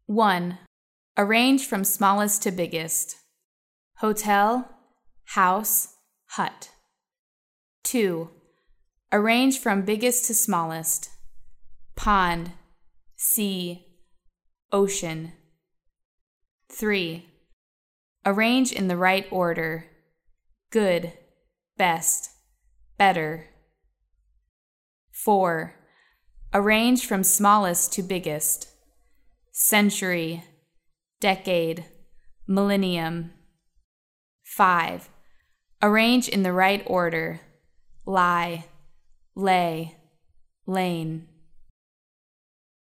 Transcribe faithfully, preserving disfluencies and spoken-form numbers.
one. Arrange from smallest to biggest. Hotel, house, hut. two. Arrange from biggest to smallest. Pond, sea, ocean. three. Arrange in the right order. Good, best, better. four. Arrange from smallest to biggest. Century, decade, millennium. five. Arrange in the right order. Lie, lay, lane.